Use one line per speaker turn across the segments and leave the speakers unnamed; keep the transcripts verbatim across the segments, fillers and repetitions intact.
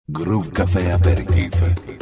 Groove Café Aperitif.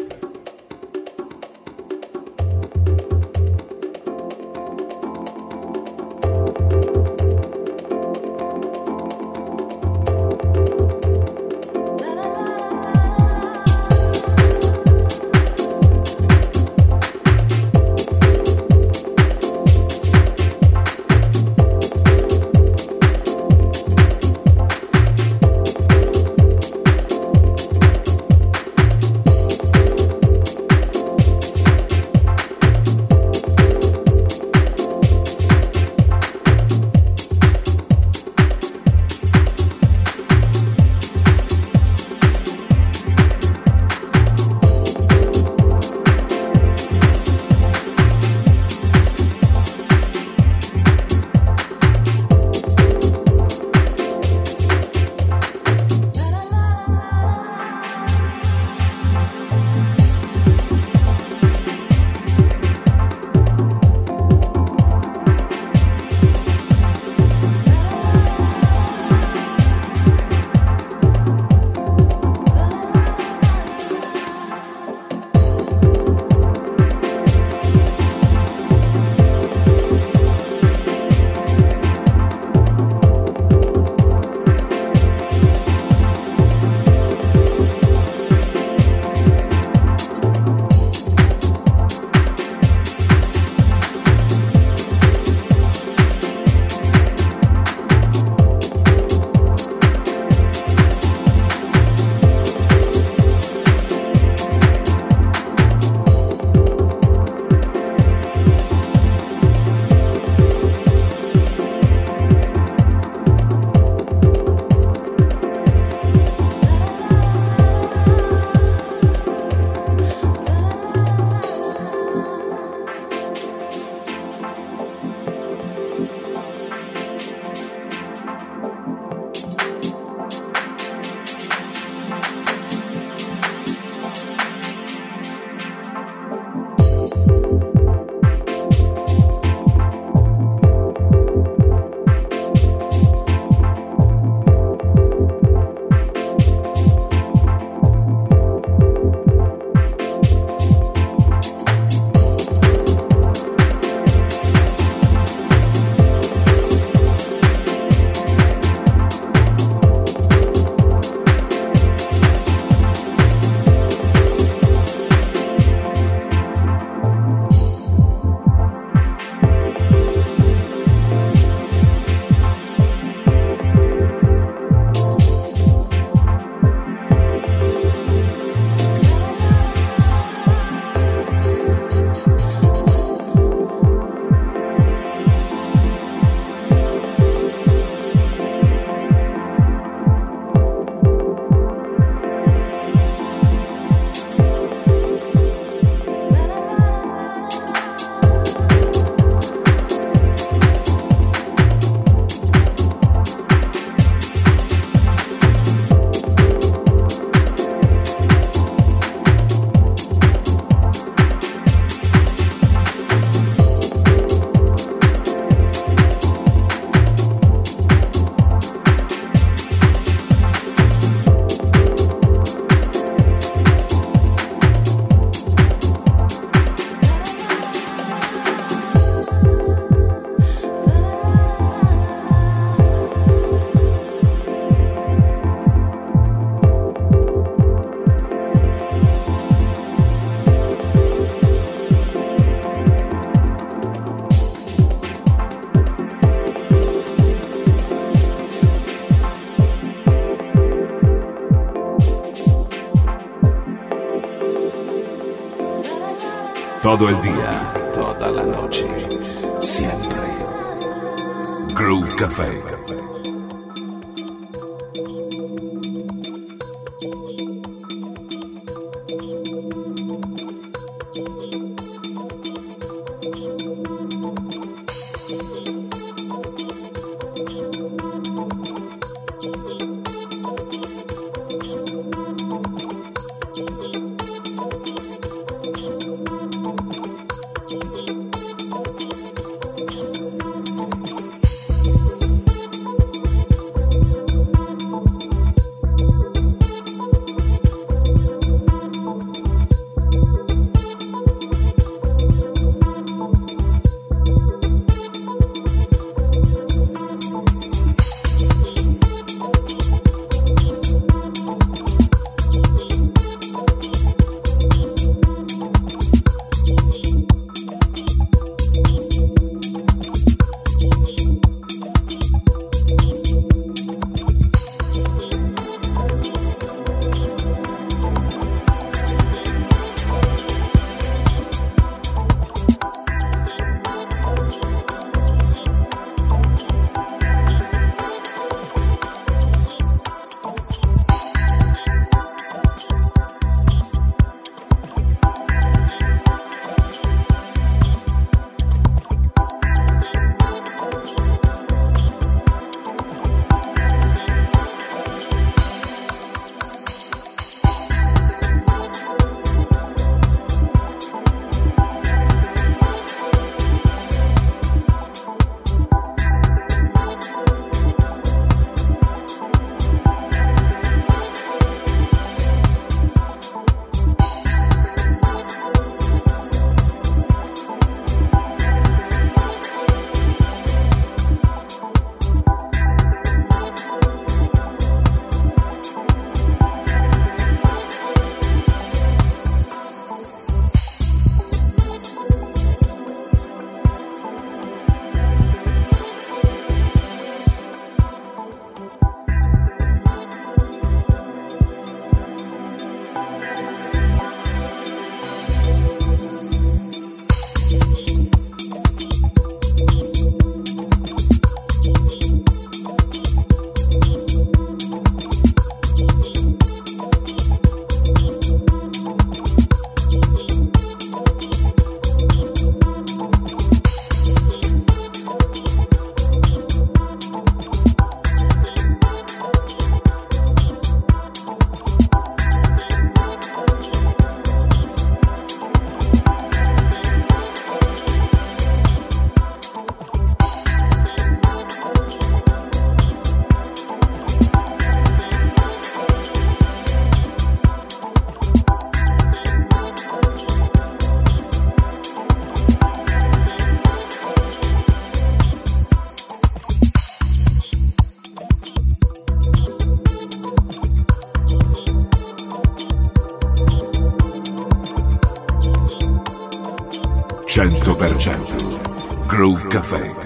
Todo el día, toda la noche, siempre. Groove Café. cento per cento Groove Café.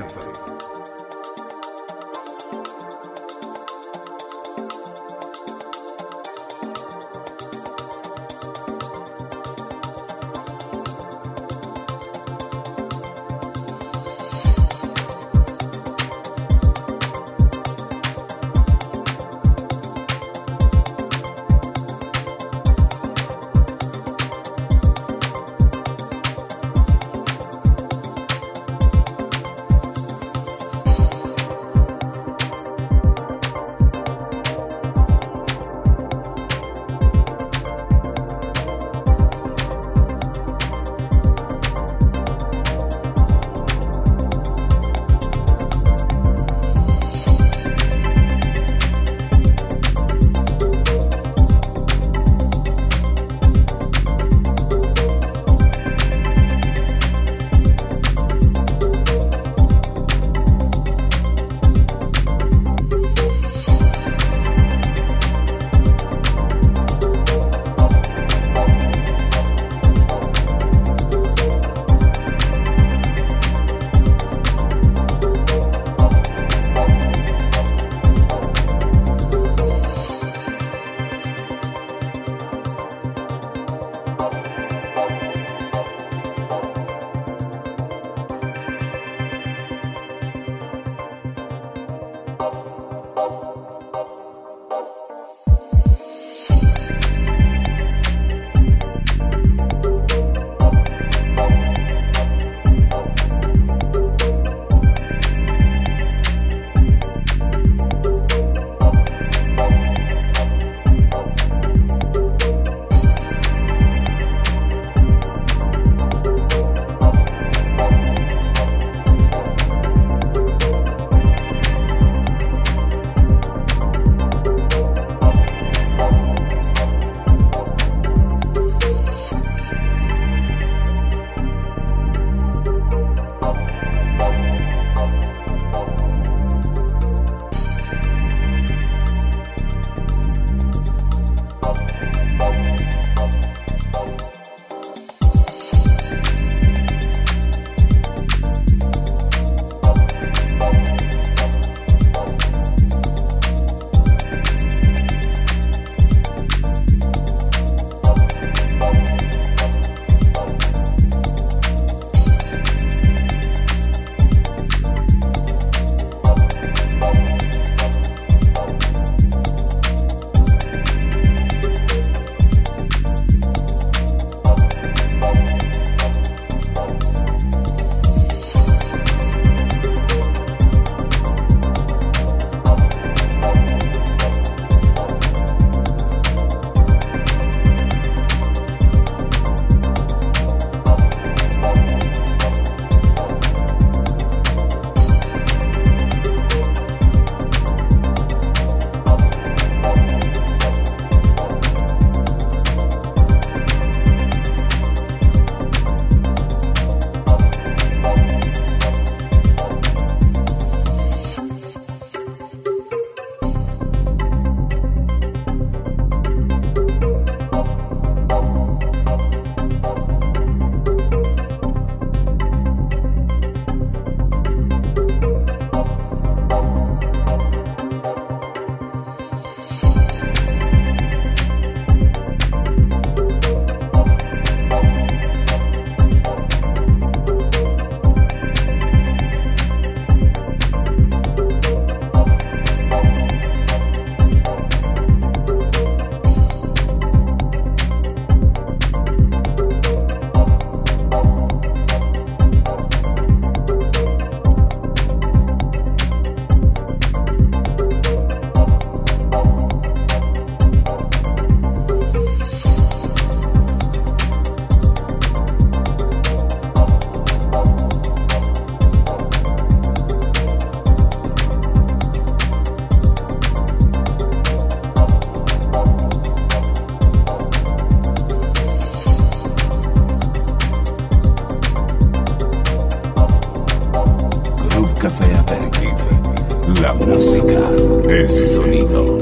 El sonido.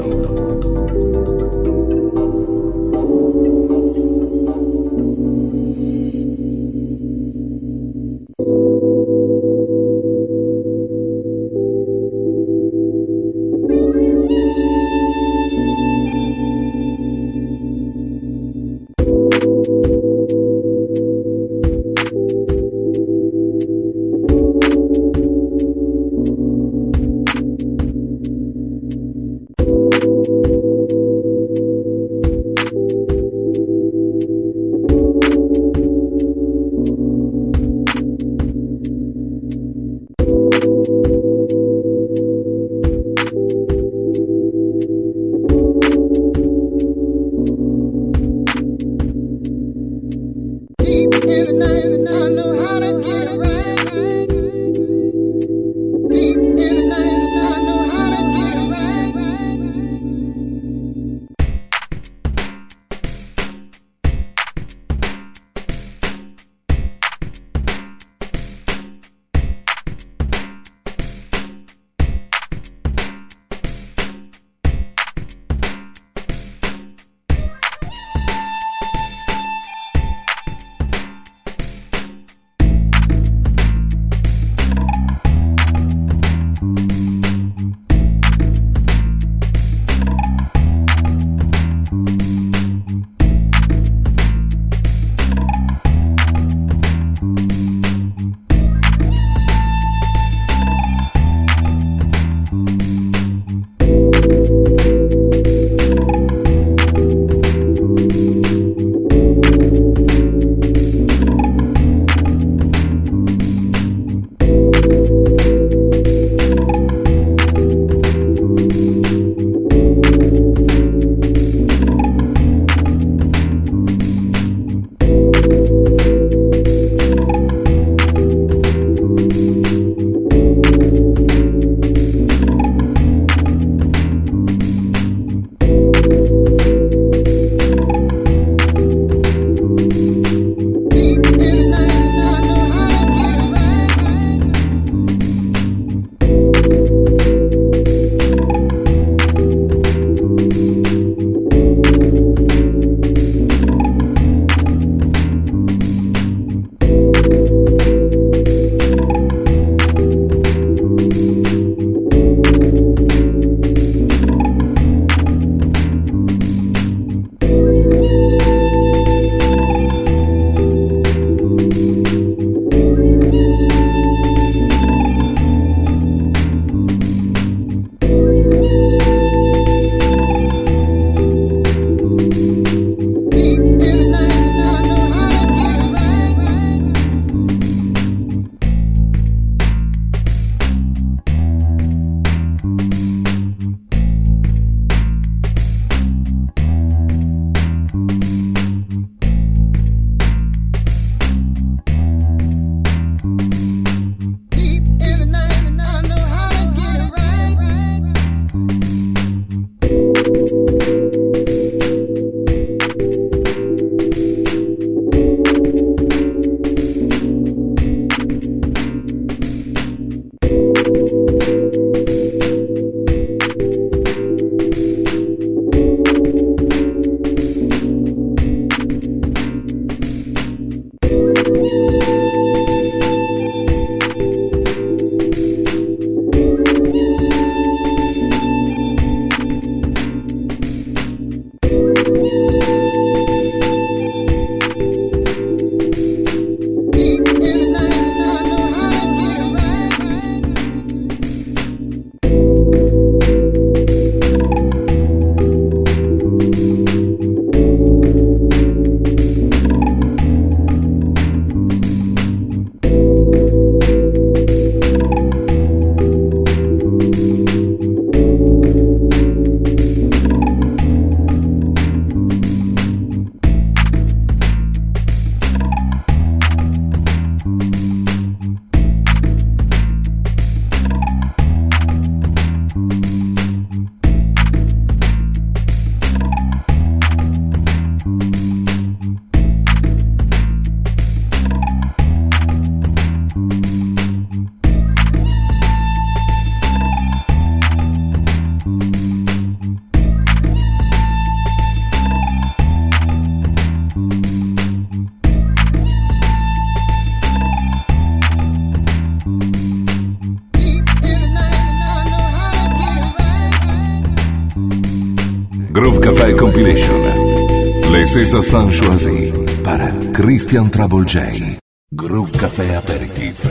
Café Compilation. Les César Sanchoisi para Christian Trouble J. Groove Café Aperitif.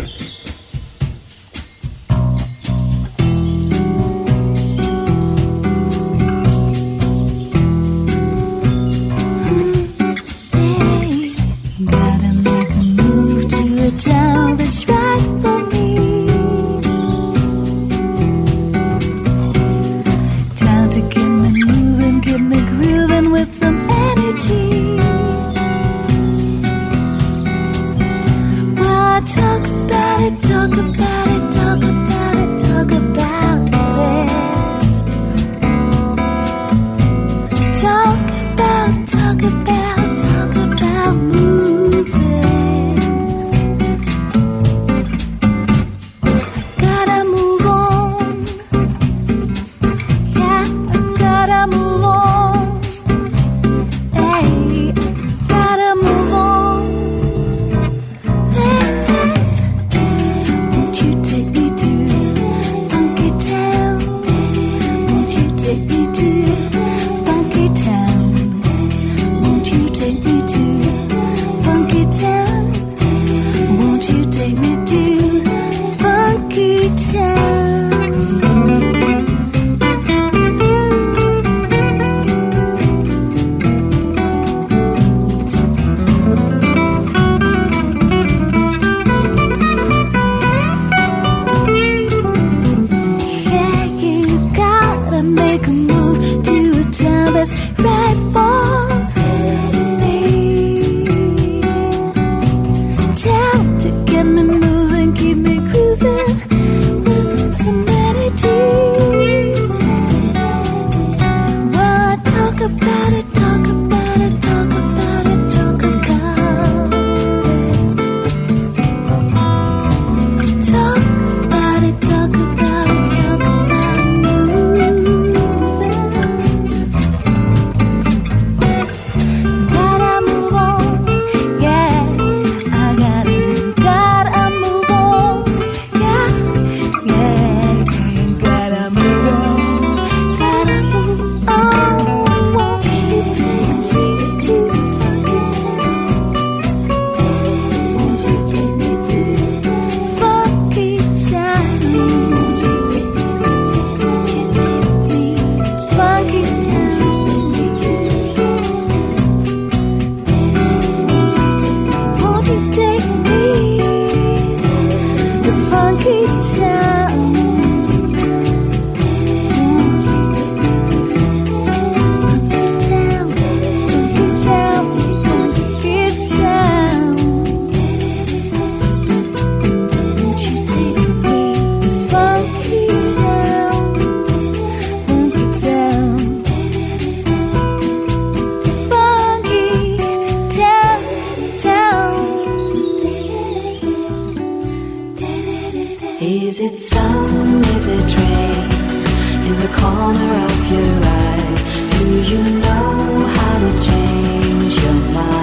Is it sun, is it rain in the corner of your eye? Do you know how to change your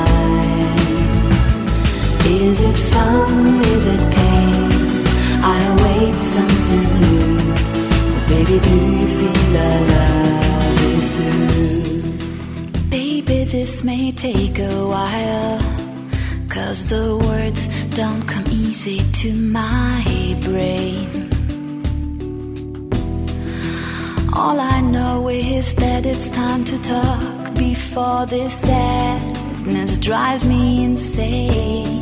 mind? Is it fun, is it pain? I await something new. Oh, baby, do you feel our love is through? Baby, this may take a while, 'cause the words don't come easy to my brain. All I know is that it's time to talk before this sadness drives me insane.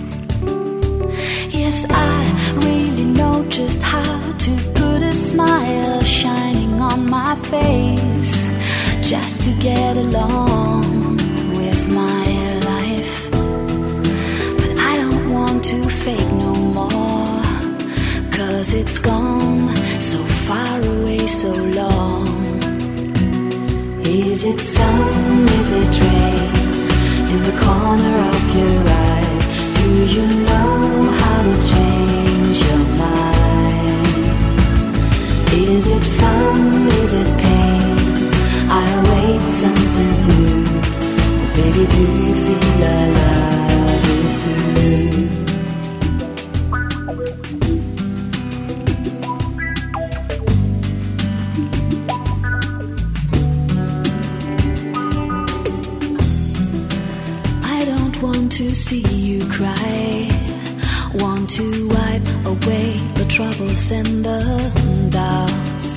Yes, I really know just how to put a smile shining on my face, just to get along with my life. But I don't want to fake no more, 'cause it's gone so far away, so long. Is it sun, is it rain in the corner of your eye? Do you know how to change your mind? Is it fun, is it pain? I await something new. Oh, baby, do you feel our love is through? don't want to see you cry. Want to wipe away the troubles and the doubts.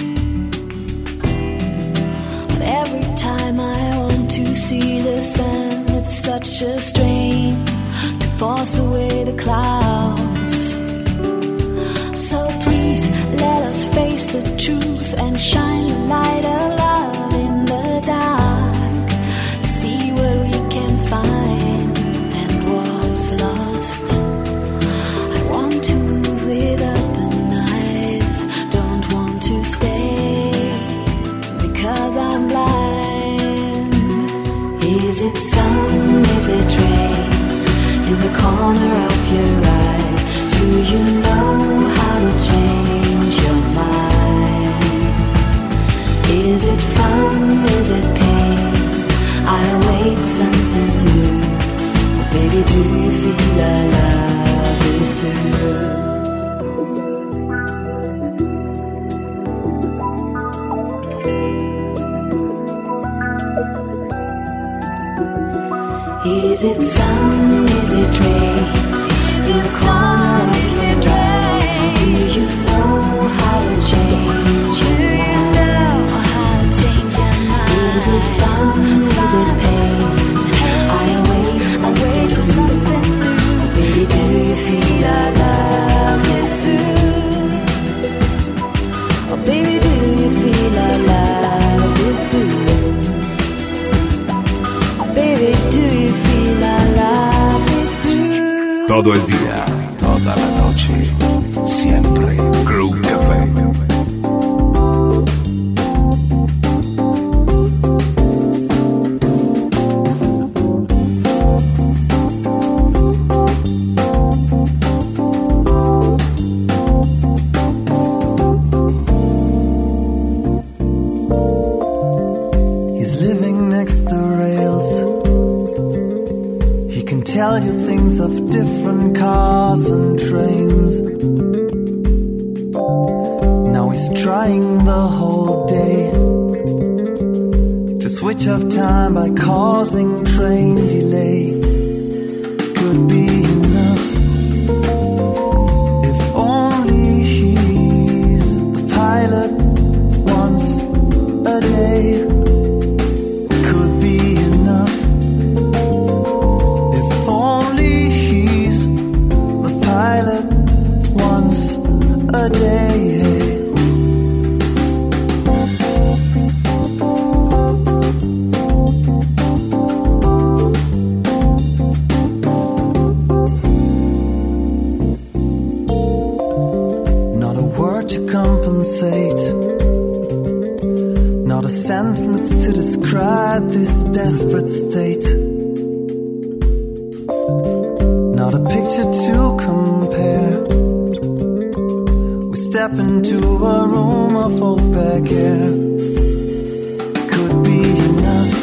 But every time I want to see the sun, it's such a strain to force away the clouds. So please let us face the truth and shine the light of love in the dark, to see what we can find and what's lost. I want to move with open eyes, don't want to stay because I'm blind. Is it sun, is it rain in the corner of your eye? Do you know how to change your mind? Is it fun, is it pain? I await something new. Oh, baby, do you feel our love is through? Is it sun, is it rain in the corner of your eyes? Do you know how to change your mind? Is it fun, is it pain? I await something new. Oh, baby, do you feel our love is through? Oh, baby, do you feel our love is through? Baby, do you feel our love is through?
Todo el día, toda la noche, siempre Groove Café.
He's living next to rails. He can tell you things of different cars and trains. Now he's trying the whole day to switch off time by causing train delay. Could be enough if only he's the pilot once a day. Could be enough if only he's the pilot once a day. Not a word to compensate, not a sentence to describe this desperate state, not a picture to compare. We step into a room of opaque air. Could be enough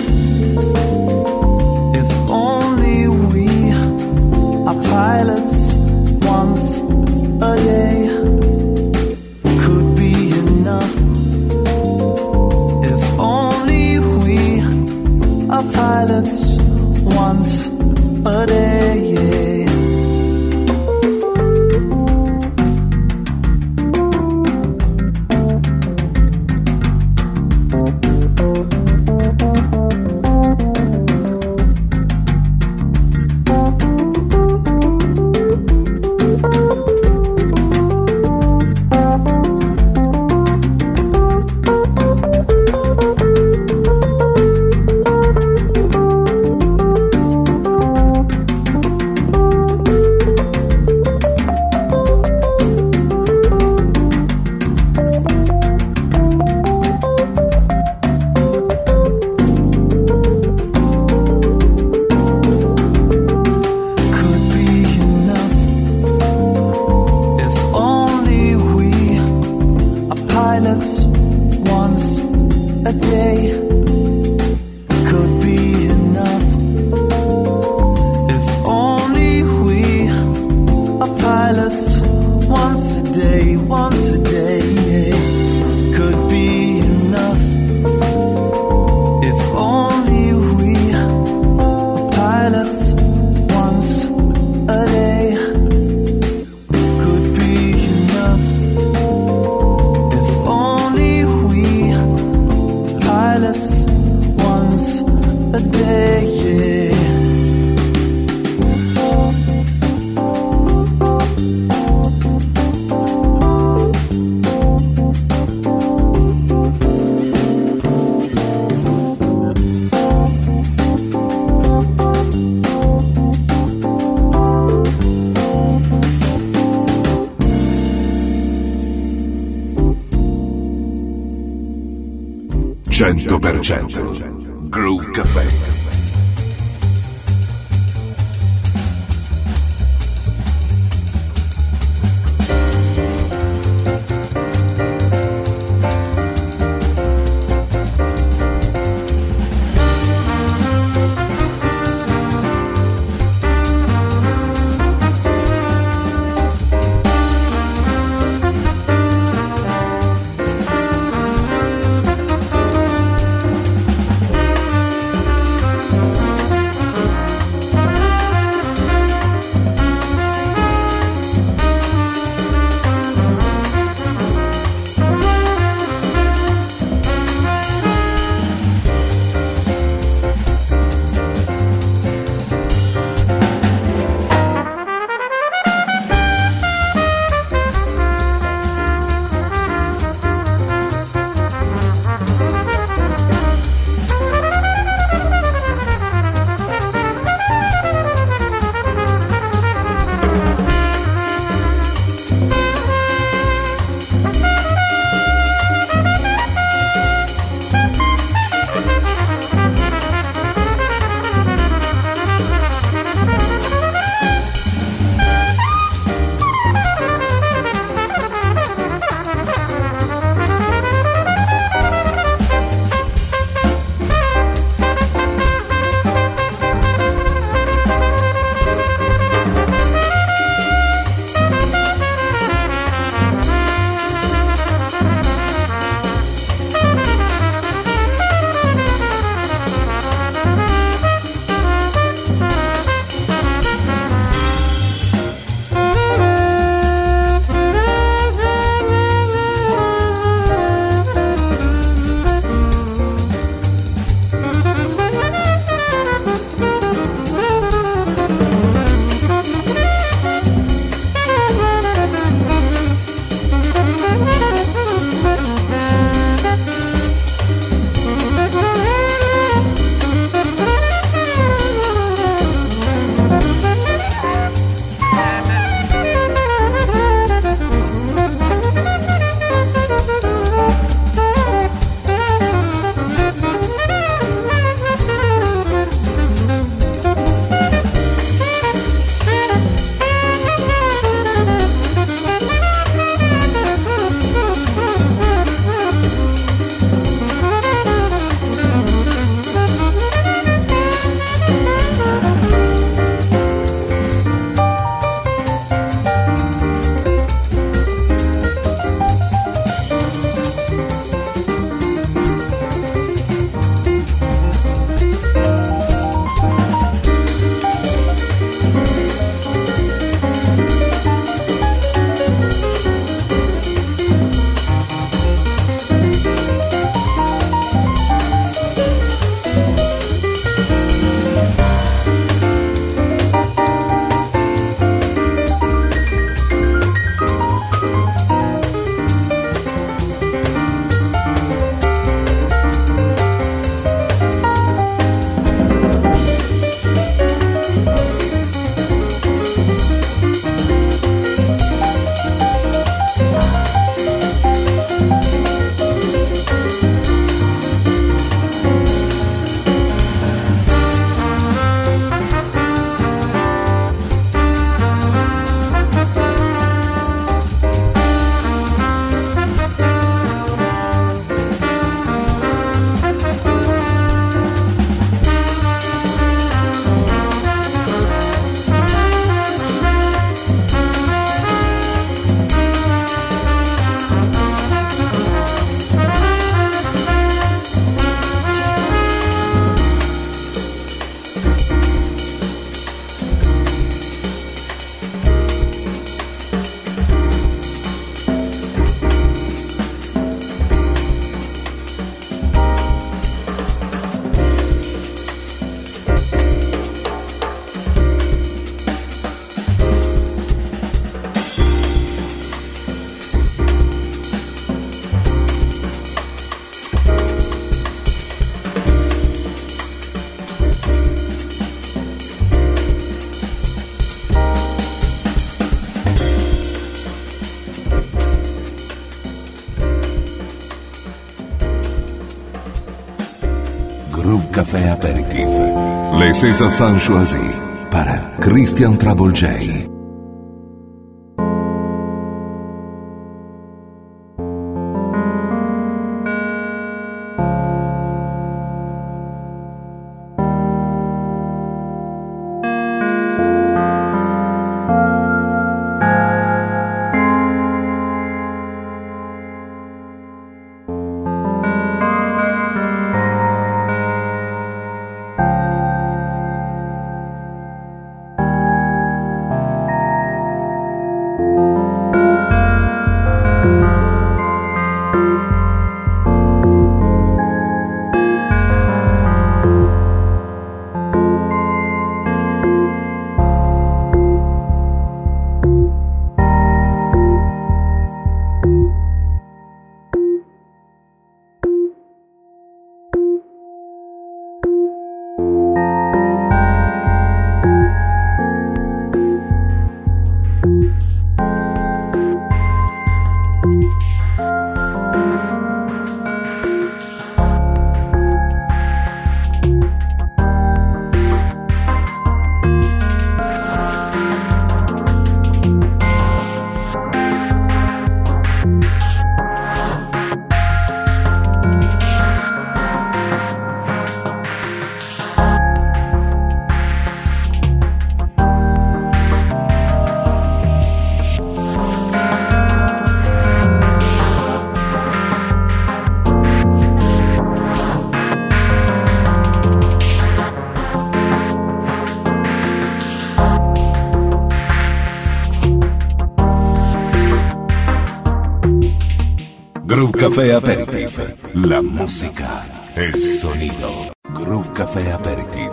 if only we are pilots once a day. Could be enough if only we are pilots once a day.
cento per cento Groove Café. César Sanchoisi para Christian Trouble J. Groove Café Aperitif. La música, el sonido. Groove Café Aperitif.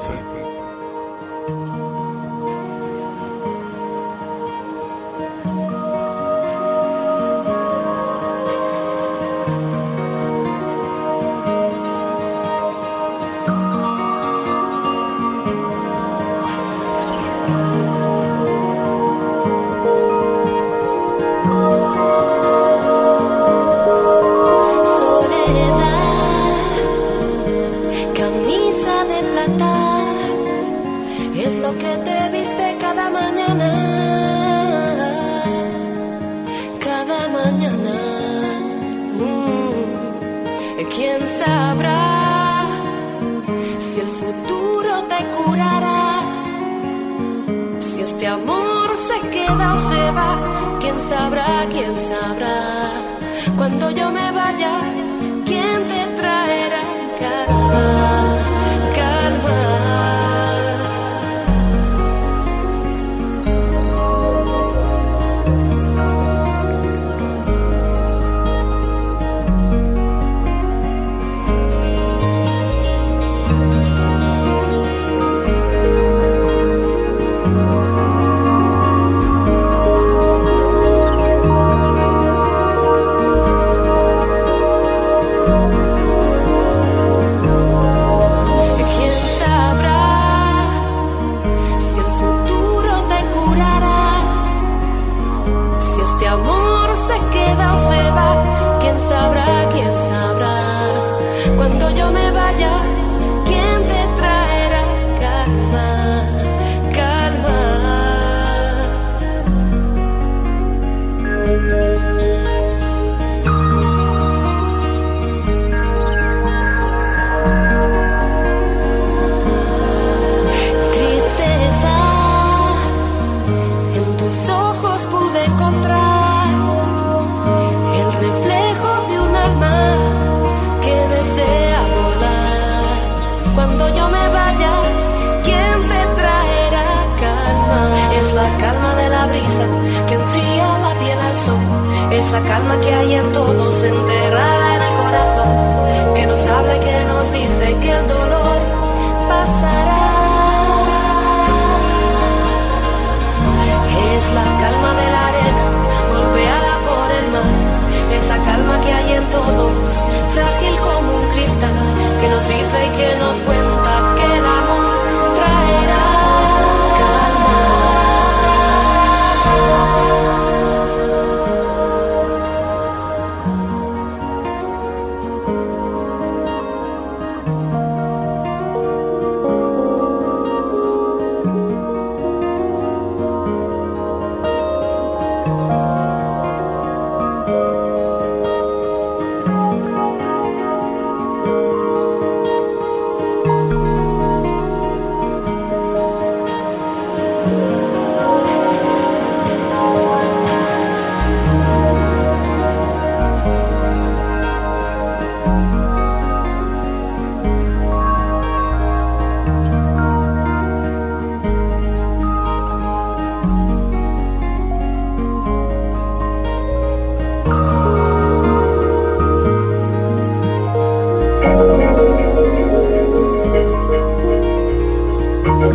Esa calma que hay en todos, enterrada en el corazón, que nos habla y que nos dice que el dolor pasará. Es la calma de la arena, golpeada por el mar. Esa calma que hay en todos, frágil como un cristal, que nos dice y que nos cuenta que el amor traerá calma.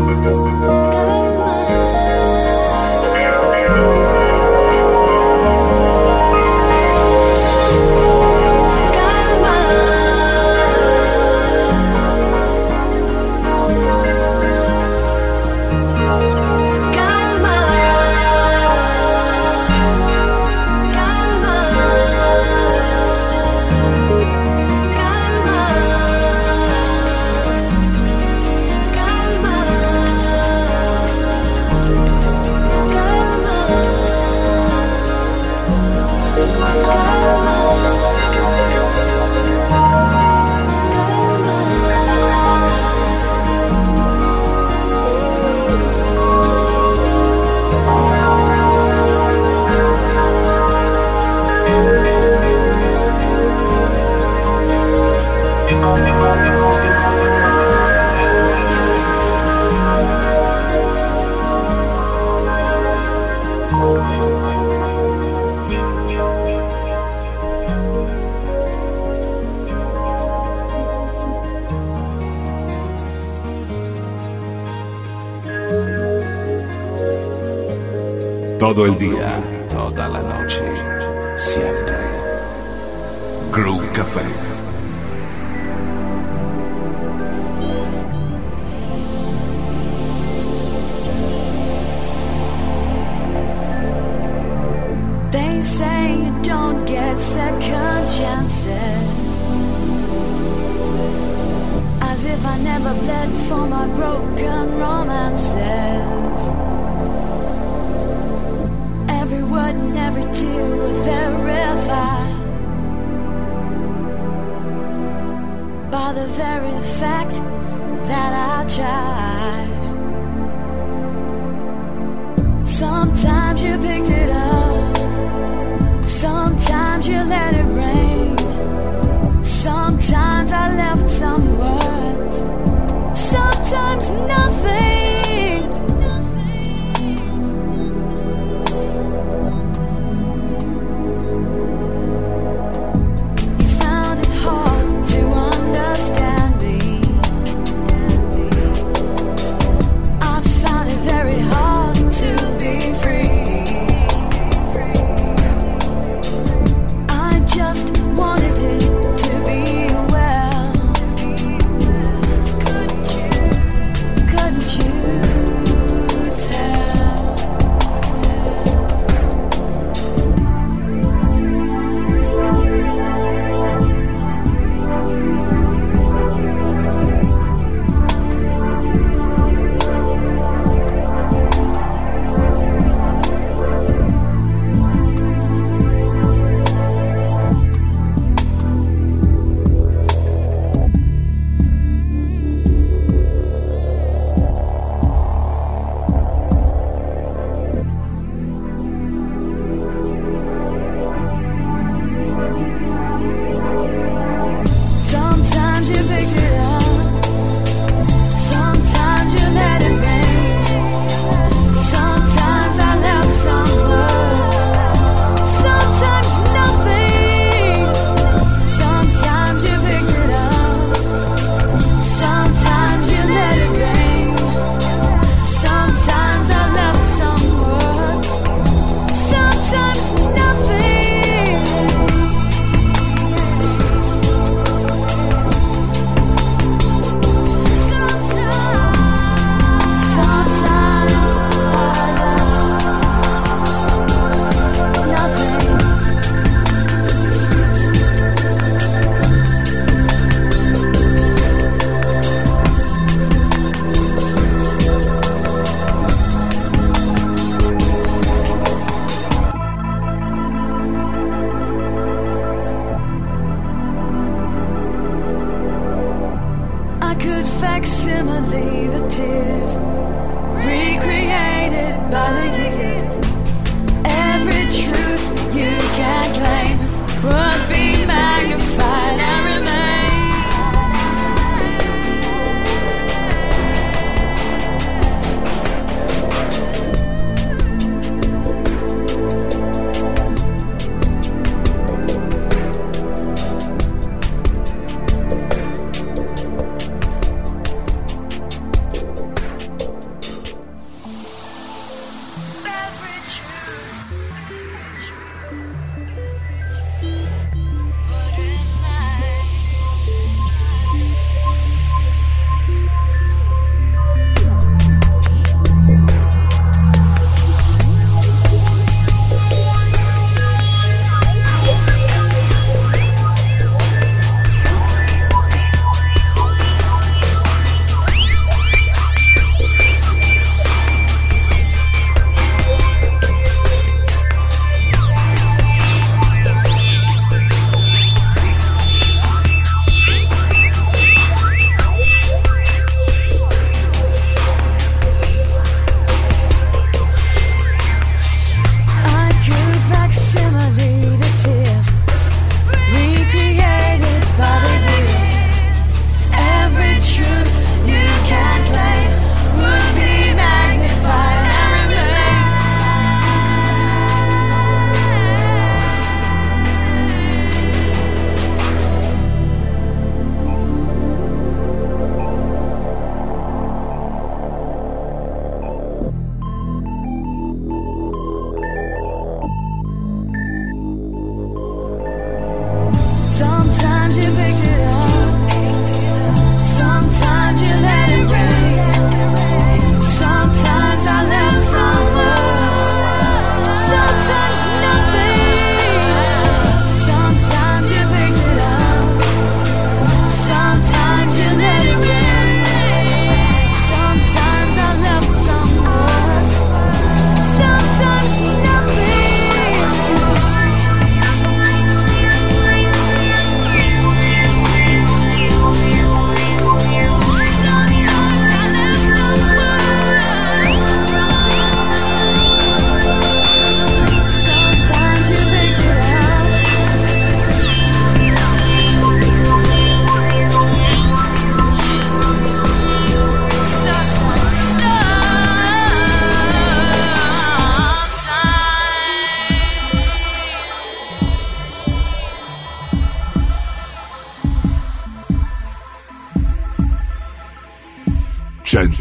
Todo el día, toda la noche, siempre. Groove Café.
They say you don't get second chances, as if I never bled for my broken romances. Every word and every tear was verified by the very fact that I tried. Sometimes you picked it up, sometimes you let it rain, sometimes I left some words, sometimes nothing.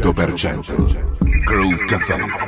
cento per cento Groove Café.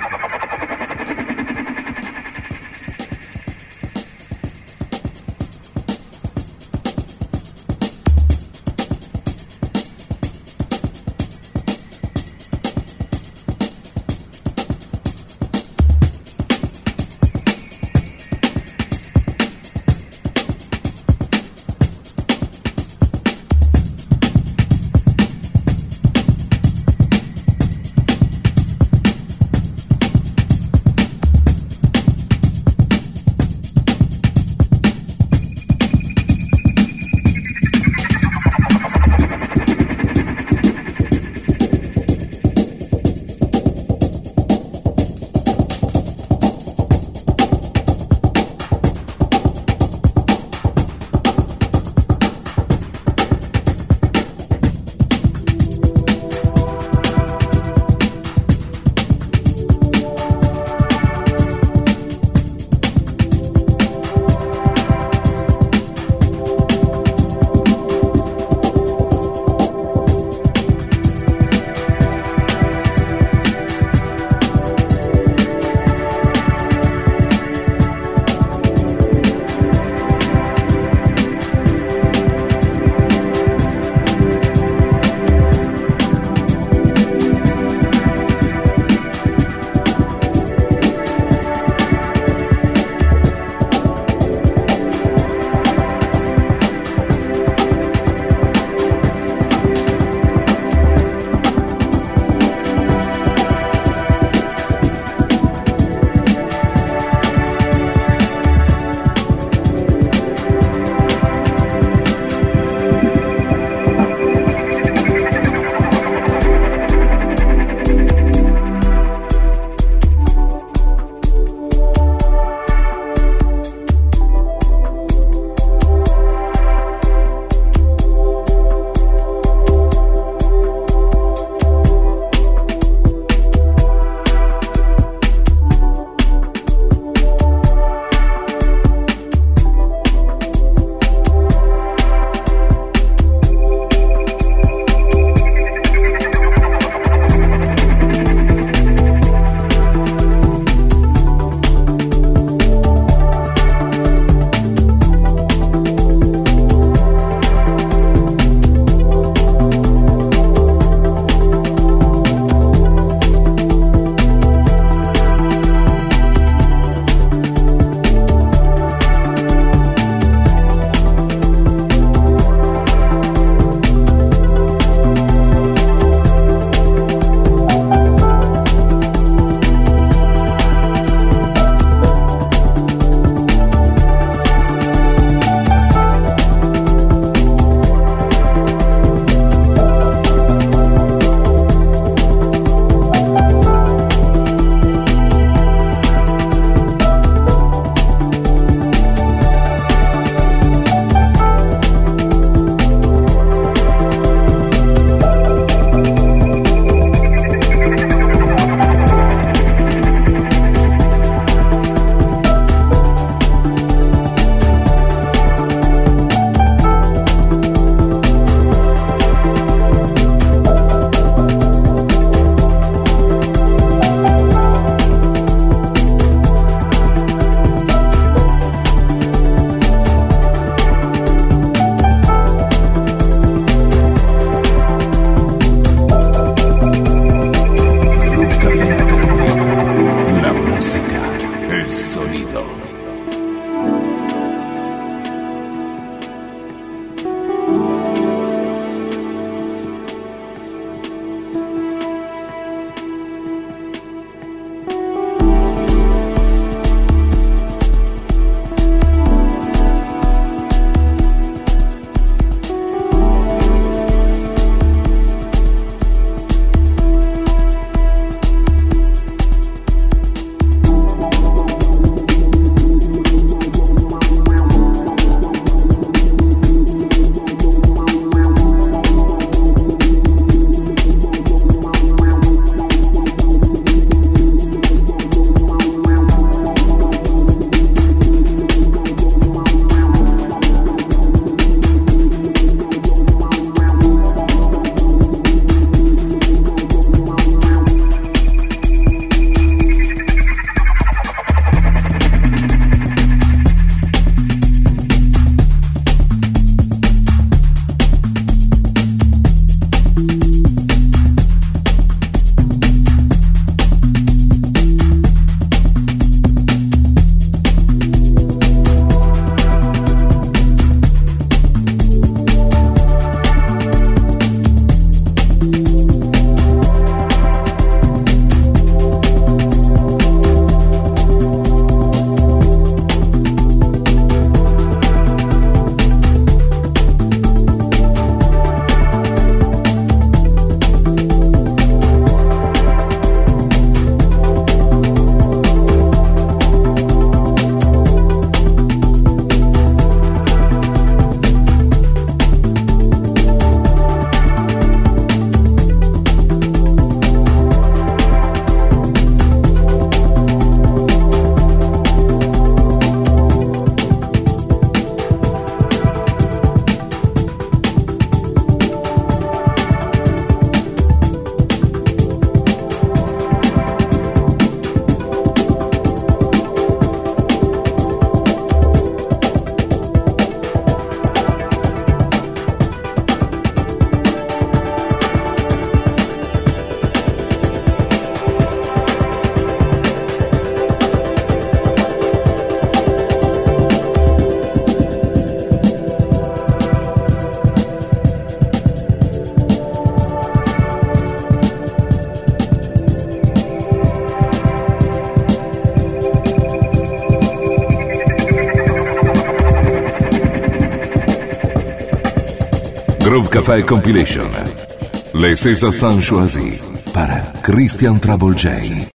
Groove Café Compilation. Les César Saint Choisi para Christian Trouble J.